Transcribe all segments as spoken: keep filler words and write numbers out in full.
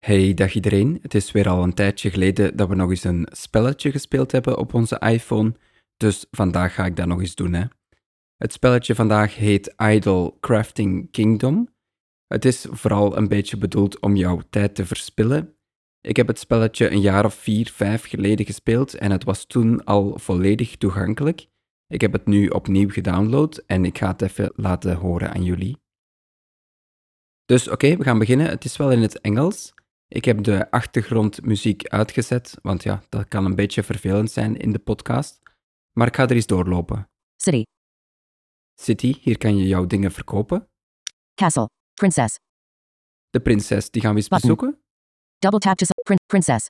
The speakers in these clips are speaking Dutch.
Hey, dag iedereen. Het is weer al een tijdje geleden dat we nog eens een spelletje gespeeld hebben op onze iPhone, dus vandaag ga ik dat nog eens doen, hè. Het spelletje vandaag heet Idle Crafting Kingdom. Het is vooral een beetje bedoeld om jouw tijd te verspillen. Ik heb het spelletje een jaar of vier, vijf geleden gespeeld en het was toen al volledig toegankelijk. Ik heb het nu opnieuw gedownload en ik ga het even laten horen aan jullie. Dus oké, we gaan beginnen. Het is wel in het Engels. Ik heb de achtergrondmuziek uitgezet, want ja, dat kan een beetje vervelend zijn in de podcast. Maar ik ga er eens doorlopen. City. City, hier kan je jouw dingen verkopen. Castle. Princess. De prinses, die gaan we eens Button. bezoeken. Double tap to select prin- princess.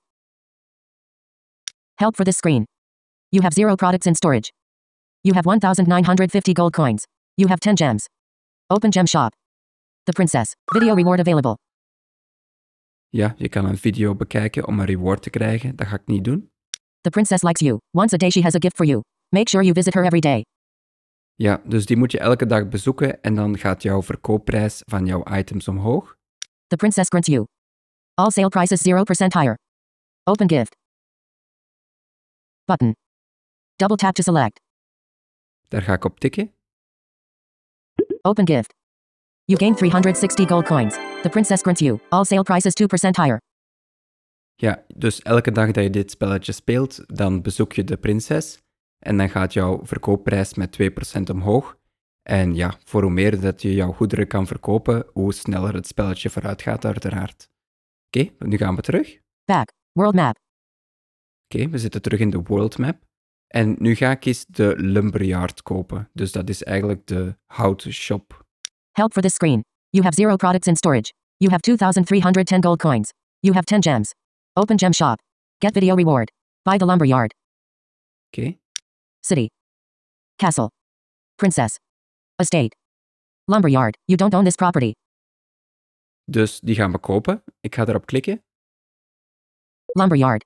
Help for this screen. You have zero products in storage. You have one thousand nine hundred fifty gold coins. You have ten gems. Open gem shop. The princess. Video reward available. Ja, je kan een video bekijken om een reward te krijgen. Dat ga ik niet doen. The princess likes you. Once a day she has a gift for you. Make sure you visit her every day. Ja, dus die moet je elke dag bezoeken en dan gaat jouw verkoopprijs van jouw items omhoog. The princess grants you. All sale prices zero percent higher. Open gift. Button. Double tap to select. Daar ga ik op tikken. Open gift. You gain three hundred sixty gold coins. The princess grants you. All sale prices two percent higher. Ja, dus elke dag dat je dit spelletje speelt, dan bezoek je de prinses en dan gaat jouw verkoopprijs met twee procent omhoog. En ja, voor hoe meer dat je jouw goederen kan verkopen, hoe sneller het spelletje vooruit gaat, uiteraard. Oké, nu gaan we terug. Back. World map. Oké, we zitten terug in de world map. En nu ga ik eens de lumberyard kopen. Dus dat is eigenlijk de houtshop. Help for this screen. You have zero products in storage. You have two thousand three hundred ten gold coins. You have ten gems. Open gem shop. Get video reward. Buy the lumberyard. Oké, City. Castle. Princess. Estate. Lumberyard. You don't own this property. dus die gaan we kopen. Ik ga erop klikken. Lumberyard.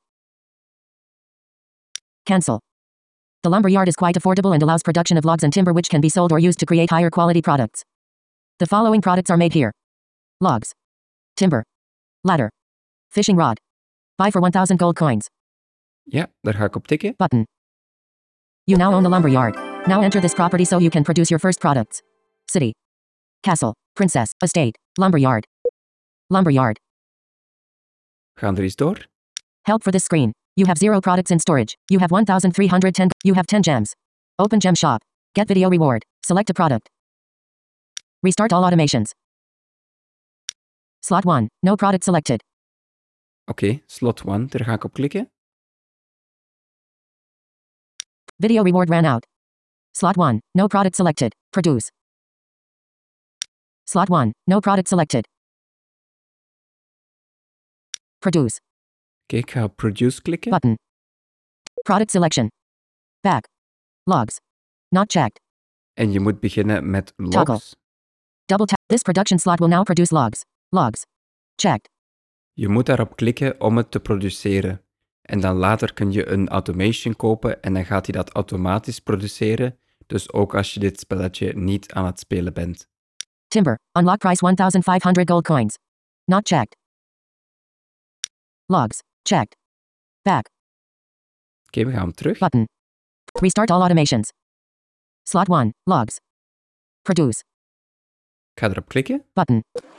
Cancel. The lumberyard is quite affordable and allows production of logs and timber which can be sold or used to create higher quality products. The following products are made here. Logs. Timber. Ladder. Fishing rod. Buy for one thousand gold coins. Ja, daar ga ik op tikken. Button. You now own the lumberyard. Now enter this property so you can produce your first products. City. Castle. Princess. Estate. Lumberyard. Lumberyard. Gaan er eens door. Help for this screen. You have zero products in storage. You have one thousand three hundred ten. You have ten gems. Open gem shop. Get video reward. Select a product. Restart all automations. Slot one. No product selected. Oké, slot one, daar ga ik op klikken. Video reward ran out. Slot one. No product selected. Produce. Slot one. No product selected. Produce. Oké, ik ga op produce klikken. Button. Product selection. Back. Logs. Not checked. En je moet beginnen met Toggle. logs. Double tap. This production slot will now produce logs. Logs. Checked. Je moet daarop klikken om het te produceren. En dan later kun je een automation kopen en dan gaat hij dat automatisch produceren. Dus ook als je dit spelletje niet aan het spelen bent. Timber. Unlock price one thousand five hundred gold coins. Not checked. Logs. Checked. Back. Oké, we gaan terug. Button. Restart all automations. Slot one. Logs. Produce. Ik ga erop klikken. Button.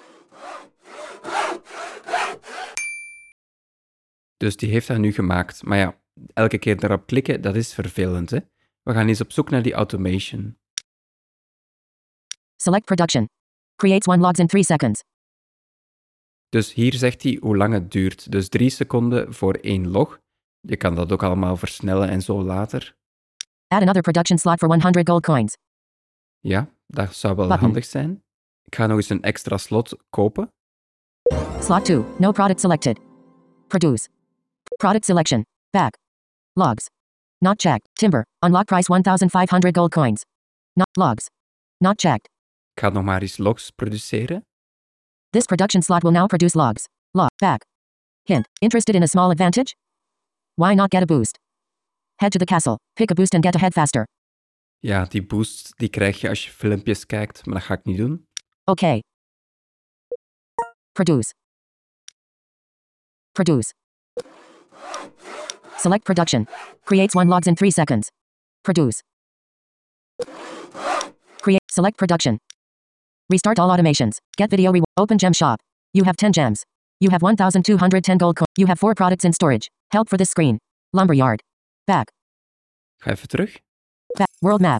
Dus die heeft dat nu gemaakt. Maar ja, elke keer daarop klikken, dat is vervelend, hè. We gaan eens op zoek naar die automation. Select production. Creates one logs in three seconds. Dus hier zegt hij hoe lang het duurt. Dus drie seconden voor één log. Je kan dat ook allemaal versnellen en zo later. Add another production slot for one hundred gold coins. Ja, dat zou wel Button. handig zijn. Ik ga nog eens een extra slot kopen. Slot two. No product selected. Produce. Product selection. Back. Logs. Not checked. Timber. Unlock price one thousand five hundred gold coins. Not logs. Not checked. Ik ga nog maar eens logs produceren. This production slot will now produce logs. Log. Back. Hint. Interested in a small advantage? Why not get a boost? Head to the castle. Pick a boost and get ahead faster. Ja, die boost die krijg je als je filmpjes kijkt, maar dat ga ik niet doen. Okay. Produce. Produce. Select production. Creates one logs in three seconds. Produce. Create. Select production. Restart all automations. Get video reward. Open gem shop. You have ten gems. You have one thousand two hundred ten gold coins. You have four products in storage. Help for this screen. Lumberyard. Back. Ga even terug. Back. World map.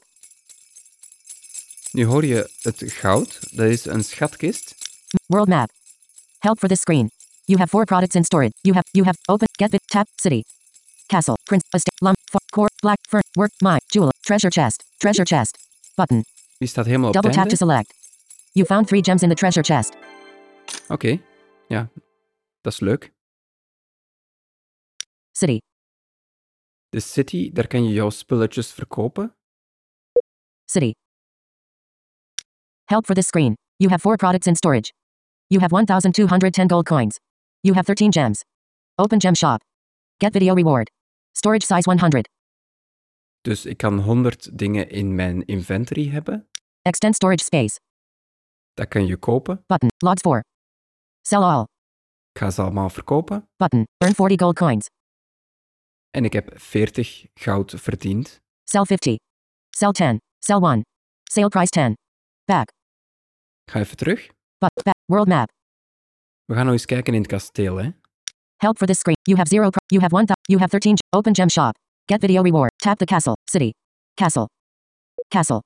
Nu hoor je het goud. Dat is een schatkist. World map. Help for this screen. You have four products in storage. You have, you have, open, get bit, tap, city. Castle, prince, estate, lump, fo- core, black, fern, work, mine, jewel, treasure chest, treasure chest. Button. Die staat helemaal op Double het tap to einde. select. You found three gems in the treasure chest. Oké, okay. Ja, dat is leuk. City. De city, daar kan je jouw spulletjes verkopen. City. Help for this screen. You have four products in storage. You have one thousand two hundred ten gold coins. You have thirteen gems. Open gem shop. Get video reward. Storage size one hundred. Dus ik kan honderd dingen in mijn inventory hebben. Extend storage space. Dat kan je kopen. Button. Logs four. Sell all. Ik ga ze allemaal verkopen. Button. Earn forty gold coins. En ik heb veertig goud verdiend. Sell fifty. Sell ten. Sell one. Sale price ten. Back. Ga even terug. But, back. World map. We gaan nog eens kijken in het kasteel, hè. Help for this screen. You have zero. Pro- you have one. Th- you have thirteen. G- open gem shop. Get video reward. Tap the castle. City. Castle. Castle.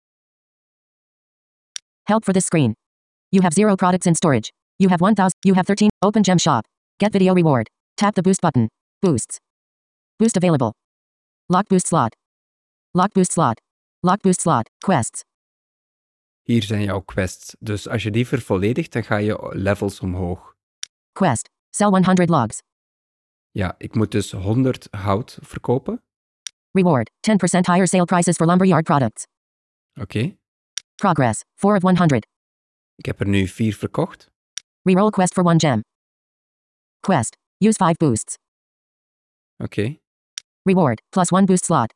Help for this screen. You have zero products in storage. You have one thousand. You have thirteen. Open gem shop. Get video reward. Tap the boost button. Boosts. Boost available. Lock boost slot. Lock boost slot. Lock boost slot. Quests. Hier zijn jouw quests. Dus als je die vervolledigt, dan ga je levels omhoog. Quest. Sell one hundred logs. Ja, ik moet dus honderd hout verkopen. Reward. ten percent higher sale prices for lumberyard products. Oké. Okay. Progress. four of one hundred. Ik heb er nu vier verkocht. Reroll quest for one gem. Quest. Use five boosts. Oké. Okay. Reward. Plus one boost slot.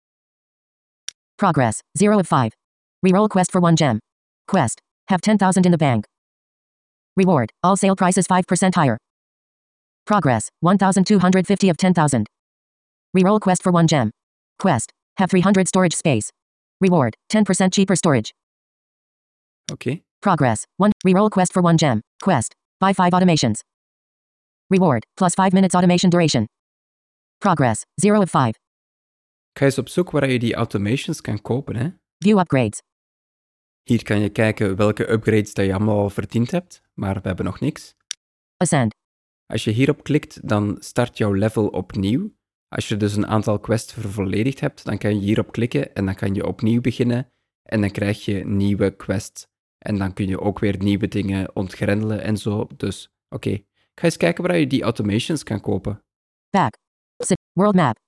Progress. zero of five. Reroll quest for one gem. Quest. Have ten thousand in the bank. Reward. All sale prices five percent higher. Progress. one thousand two hundred fifty of ten thousand. Reroll quest for one gem. Quest. Have three hundred storage space. Reward. ten percent cheaper storage. Oké. Okay. Progress. one. Reroll quest for one gem. Quest. Buy five automations. Reward. Plus five minutes automation duration. Progress. zero of five. Ga eens op zoek waar je die automations kan kopen, hè. View upgrades. Hier kan je kijken welke upgrades dat je allemaal al verdiend hebt, maar we hebben nog niks. Ascend. Als je hierop klikt, dan start jouw level opnieuw. Als je dus een aantal quests vervolledigd hebt, dan kan je hierop klikken en dan kan je opnieuw beginnen en dan krijg je nieuwe quests. En dan kun je ook weer nieuwe dingen ontgrendelen en zo. Dus, oké. Okay. Ga eens kijken waar je die automations kan kopen. Back. Sit. World map.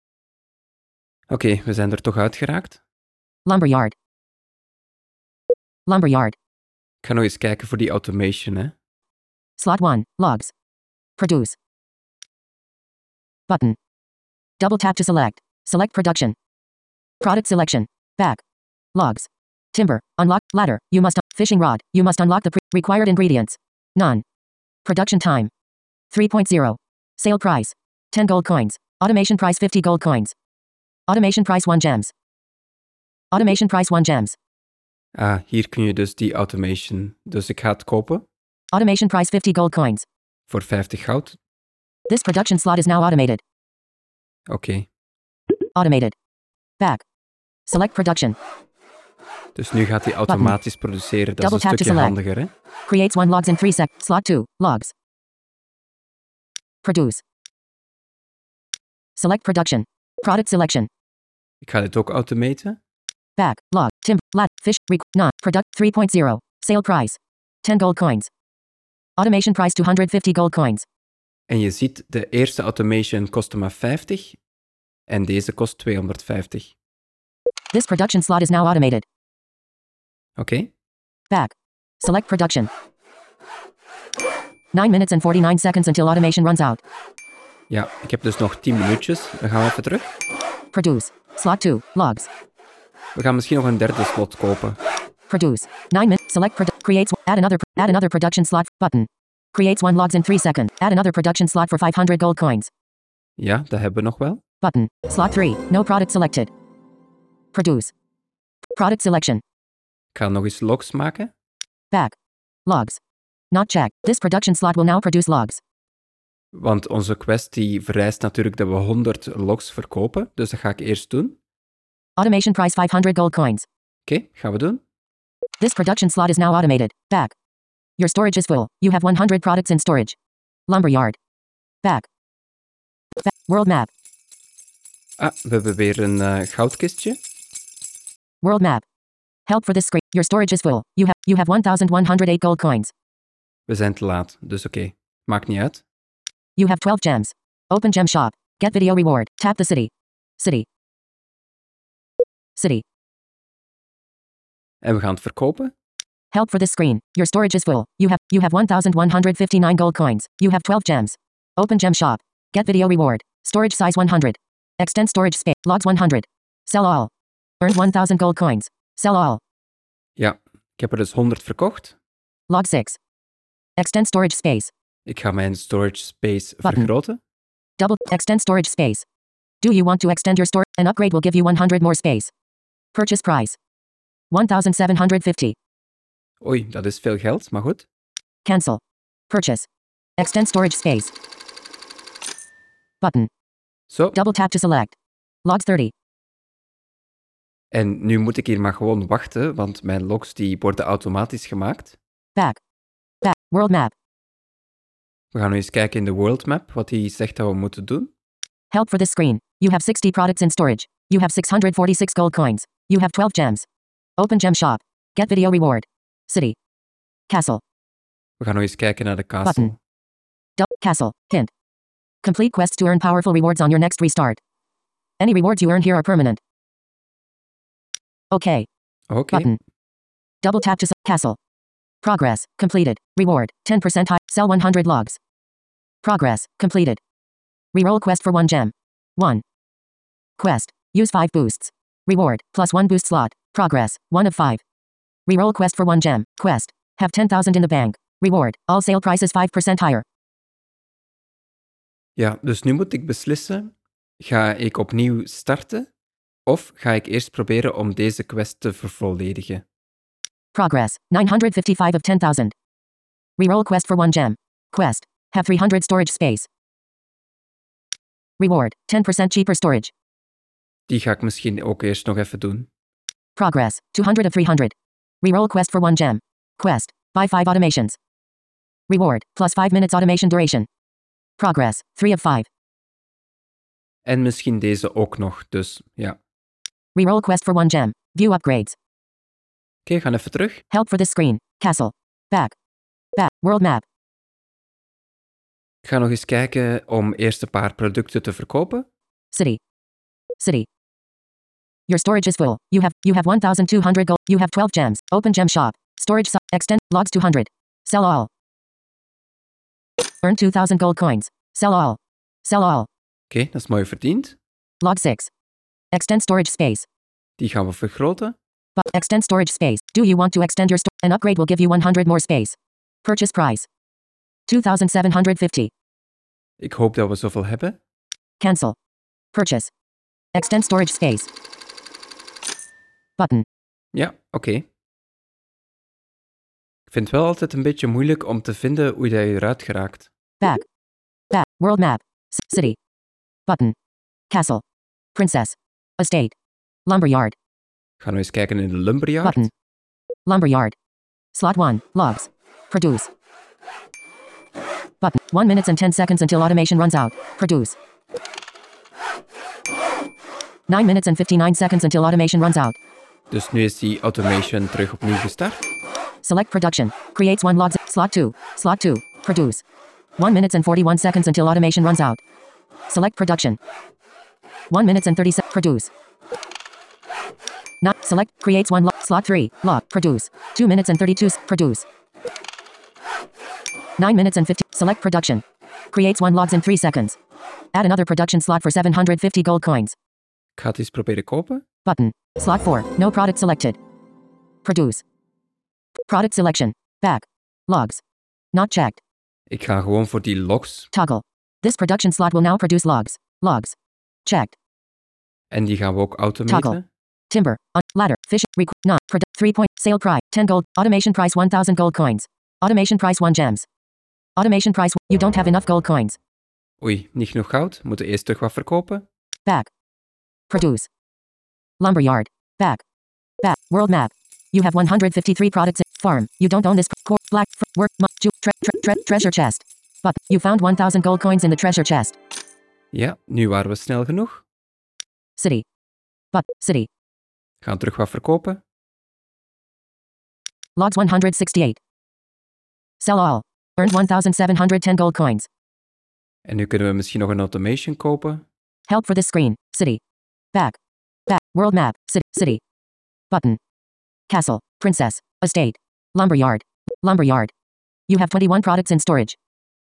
Oké, okay, we zijn er toch uitgeraakt. Lumberyard. Lumberyard. Ik ga nog eens kijken voor die automation, hè. Slot one. Logs. Produce. Button. Double tap to select. Select production. Product selection. Back. Logs. Timber. Unlock. Ladder. You must. Un- fishing rod. You must unlock the pre- required ingredients. None. Production time. three point zero. Sale price. ten gold coins. Automation price fifty gold coins. Automation price one gems. Automation price one gems. Ah, hier kun je dus die automation. Dus ik ga het kopen. Automation price fifty gold coins. Voor vijftig goud. This production slot is now automated. Oké. Okay. Automated. Back. Select production. Dus nu gaat hij automatisch Button. produceren. Dat Double is een tap stukje to select. handiger, hè? Creates one logs in three seconds. Slot two. Logs. Produce. Select production. Product selection. Ik ga dit ook automaten. Back. Log. Timber. Lat. Fish. Req. Not. Product. three point zero. Sale price. ten gold coins. Automation price two hundred fifty gold coins. En je ziet, de eerste automation kostte maar vijftig. En deze kost tweehonderdvijftig. This production slot is now automated. Oké. Okay. Back. Select production. nine minutes and forty-nine seconds until automation runs out. Ja, ik heb dus nog tien minuutjes. Dan gaan we even terug. Produce. Slot two. Logs. We gaan misschien nog een derde slot kopen. Produce. nine minutes. Select produ- creates add another add another production slot button. Creates one logs in three seconds. Add another production slot for five hundred gold coins. Ja, dat hebben we nog wel. Button. Slot three. No product selected. Produce. Product selection. Ik ga nog eens logs maken. Back. Logs. Not checked. This production slot will now produce logs. Want onze quest die vereist natuurlijk dat we honderd logs verkopen. Dus dat ga ik eerst doen. Automation price five hundred gold coins. Oké, okay, gaan we doen. This production slot is now automated. Back. Your storage is full. You have one hundred products in storage. Lumberyard. Back. Back. World map. Ah, we hebben weer een uh, goudkistje. World map. Help for this screen. Your storage is full. You have you have one thousand one hundred eight gold coins. We zijn te laat, dus oké. Okay. Maakt niet uit. You have twelve gems. Open gem shop. Get video reward. Tap the city. City. City. En we gaan het verkopen. Help for this screen. Your storage is full. You have you have one thousand one hundred fifty-nine gold coins. You have twelve gems. Open gem shop. Get video reward. Storage size one hundred. Extend storage space. Logs one hundred. Sell all. Earn one thousand gold coins. Sell all. Ja, ik heb er dus honderd verkocht. Log six. Extend storage space. Ik ga mijn storage space Button. vergroten. Double extend storage space. Do you want to extend your store? An upgrade will give you one hundred more space. Purchase price. one thousand seven hundred fifty. Oei, dat is veel geld, maar goed. Cancel. Purchase. Extend storage space. Button. Zo. Double tap to select. Logs thirty. En nu moet ik hier maar gewoon wachten, want mijn logs die worden automatisch gemaakt. Back. Back. World map. We gaan nu eens kijken in de world map, wat hij zegt dat we moeten doen. Help for this screen. You have sixty products in storage. You have six hundred forty-six gold coins. You have twelve gems. Open gem shop. Get video reward. City. Castle. We gaan nu eens kijken naar de castle. Button. Du- castle. Hint. Complete quests to earn powerful rewards on your next restart. Any rewards you earn here are permanent. Okay. Oké. Okay. Button. Double tap to s- castle. Progress. Completed. Reward. ten percent high. Sell one hundred logs. Progress. Completed. Reroll quest for one gem. one. Quest. Use five boosts. Reward. Plus one boost slot. Progress. one of five. Reroll quest for one gem. Quest. Have ten thousand in the bank. Reward. All sale prices five percent higher. Ja, dus nu moet ik beslissen. Ga ik opnieuw starten? Of ga ik eerst proberen om deze quest te vervolledigen? Progress. nine hundred fifty-five of ten thousand. Reroll quest for one gem. Quest. Have three hundred storage space. Reward. ten percent cheaper storage. Die ga ik misschien ook eerst nog even doen. Progress. two hundred of three hundred. Reroll quest for one gem. Quest. Buy five automations. Reward. Plus five minutes automation duration. Progress. three of five. En misschien deze ook nog, dus ja. Reroll quest for one gem. View upgrades. Oké, okay, gaan even terug. Help for this screen. Castle. Back. Back. World map. Ik ga nog eens kijken om eerst een paar producten te verkopen. City. City. Your storage is full. You have you have one thousand two hundred gold. You have twelve gems. Open gem shop. Storage su- extend logs two hundred. Sell all. Earn two thousand gold coins. Sell all. Sell all. Oké, okay, dat is mooi verdiend. Log six. Extend storage space. Die gaan we vergroten. But extend storage space. Do you want to extend your store? An upgrade will give you one hundred more space. Purchase price. two thousand seven hundred fifty. Ik hoop dat we zoveel hebben. Cancel. Purchase. Extend storage space. Button. Ja, oké. Okay. Ik vind het wel altijd een beetje moeilijk om te vinden hoe je eruit geraakt. Back. Back. World map. C- city. Button. Castle. Princess. Estate. Lumberyard. Gaan we eens kijken in de lumberyard. Button. Lumberyard. Slot one. Logs. Produce. Button. one minutes and ten seconds until automation runs out. Produce. nine minutes and fifty-nine seconds until automation runs out. Dus nu is die automation terug opnieuw gestart. Select production. Creates one logs. Slot two. Slot two. Produce. one minutes and forty-one seconds until automation runs out. Select production. one minutes and thirty seconds. Produce. Not select. Creates one log. Slot three. Log. Produce. two minutes and thirty-two. s- Produce. nine minutes and fifty. Select production. Creates one logs in three seconds. Add another production slot for seven hundred fifty gold coins. Ik ga het eens proberen kopen. Button. Slot four. No product selected. Produce. Product selection. Back. Logs. Not checked. Ik ga gewoon voor die logs. Toggle. This production slot will now produce logs. Logs. Checked. En die gaan we ook automaten. Toggle. Timber. On, ladder. Fish. Requ- not. Produ- three point. Sale price. ten gold. Automation price one thousand gold coins. Automation price one gems. Automation price. You don't have enough gold coins. Oei, niet genoeg goud. Moeten eerst terug wat verkopen. Back. Produce. Lumberyard. Back. Back. World map. You have one hundred fifty-three products in farm. You don't own this core black fr- work mu- ju- tre- tre- tre- treasure chest. But you found one thousand gold coins in the treasure chest. Ja, nu waren we snel genoeg. City. But city. Gaan terug wat verkopen. Logs one hundred sixty-eight. Sell all. Earned one thousand seven hundred ten gold coins. En nu kunnen we misschien nog een automation kopen. Help for this screen. City. Back. Back. World map. City. City. Button. Castle. Princess. Estate. Lumberyard. Lumberyard. You have twenty-one products in storage.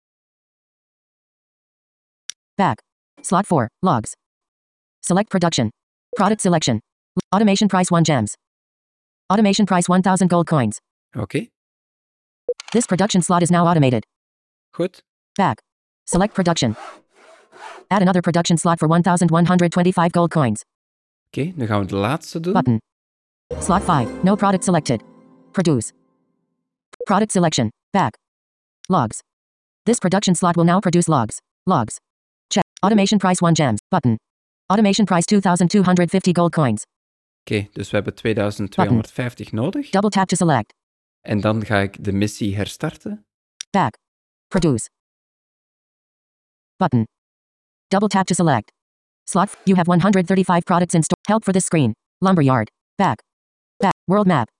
Back. Slot four. Logs. Select production. Product selection. Automation price one gems. Automation price one thousand gold coins. Oké, okay. This production slot is now automated. Goed. Back. Select production. Add another production slot for one thousand one hundred twenty-five gold coins. Oké, okay, nu gaan we de laatste doen. Button. Slot five. No product selected. Produce. Product selection. Back. Logs. This production slot will now produce logs. Logs. Check. Automation price one gems. Button. Automation price two thousand two hundred fifty gold coins. Oké, okay, dus we hebben tweeduizend tweehonderdvijftig nodig. Double tap to select. En dan ga ik de missie herstarten. Back. Produce. Button. Double tap to select. Slot. You have one hundred thirty-five products in store. Help for this screen. Lumberyard. Back. Back. World map.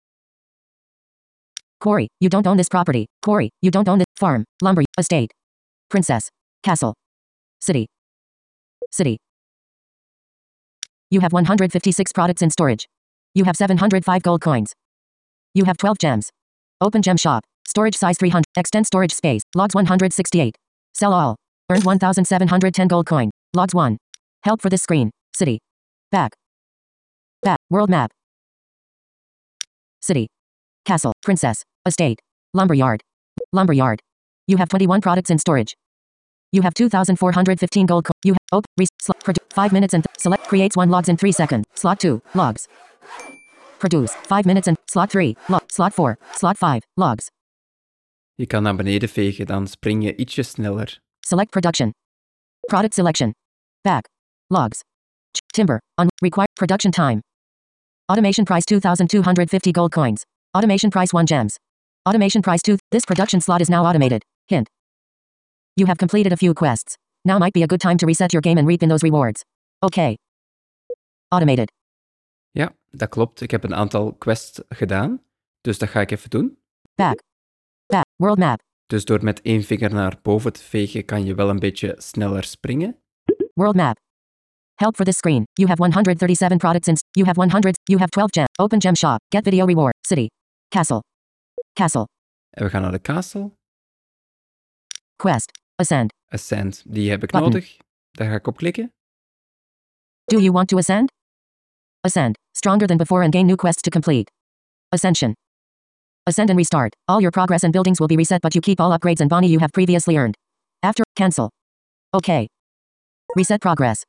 Corey, you don't own this property. Corey, you don't own this farm. Lumber. Estate. Princess. Castle. City. City. You have one hundred fifty-six products in storage. You have seven hundred five gold coins. You have twelve gems. Open gem shop. Storage size three hundred. Extend storage space. Logs one hundred sixty-eight. Sell all. Earned one thousand seven hundred ten gold coin. Logs one. Help for this screen. City. Back. Back. World map. City. Castle. Princess. Estate. Lumberyard. Lumberyard. You have twenty-one products in storage. You have two thousand four hundred fifteen gold coin. You have open. Re- sl- produ- five minutes and th- select creates one logs in three seconds. Slot two. Logs. Produce. five minutes and slot three. Log. Slot four. Slot five. Logs. Je kan naar beneden vegen, dan spring je ietsje sneller. Select production. Product selection. Back. Logs. Ch- timber. On. Required production time. Automation price two thousand two hundred fifty gold coins. Automation price one gems. Automation price two. This production slot is now automated. Hint. You have completed a few quests. Now might be a good time to reset your game and reap in those rewards. Okay. Automated. Ja, dat klopt. Ik heb een aantal quests gedaan. Dus dat ga ik even doen. Back. Back. World map. Dus door met één vinger naar boven te vegen kan je wel een beetje sneller springen. World map. Help for this screen. You have one hundred thirty-seven products in. You have one hundred. You have twelve gem. Open gem shop. Get video reward. City. Castle. Castle. En we gaan naar de castle. Quest. Ascend. Ascend. Die heb ik Button. nodig. Daar ga ik op klikken. Do you want to ascend? Ascend. Stronger than before and gain new quests to complete. Ascension. Ascend and restart. All your progress and buildings will be reset, but you keep all upgrades and bounty you have previously earned. After. Cancel. Okay. Reset progress.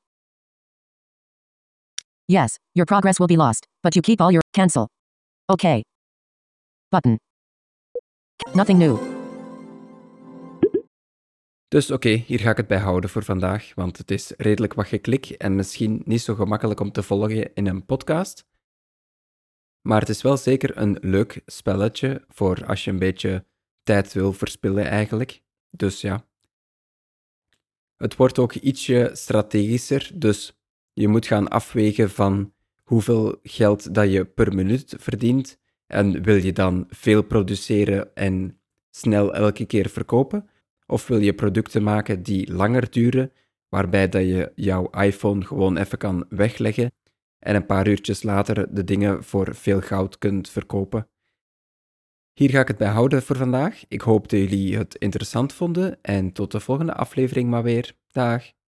Yes, your progress will be lost, but you keep all your. Cancel. Okay. Button. Nothing new. Dus oké, okay, hier ga ik het bij houden voor vandaag, want het is redelijk wat geklik en misschien niet zo gemakkelijk om te volgen in een podcast. Maar het is wel zeker een leuk spelletje voor als je een beetje tijd wil verspillen eigenlijk. Dus ja. Het wordt ook ietsje strategischer, dus je moet gaan afwegen van hoeveel geld dat je per minuut verdient en wil je dan veel produceren en snel elke keer verkopen? Of wil je producten maken die langer duren, waarbij dat je jouw iPhone gewoon even kan wegleggen en een paar uurtjes later de dingen voor veel goud kunt verkopen? Hier ga ik het bij houden voor vandaag. Ik hoop dat jullie het interessant vonden en tot de volgende aflevering maar weer. Dag!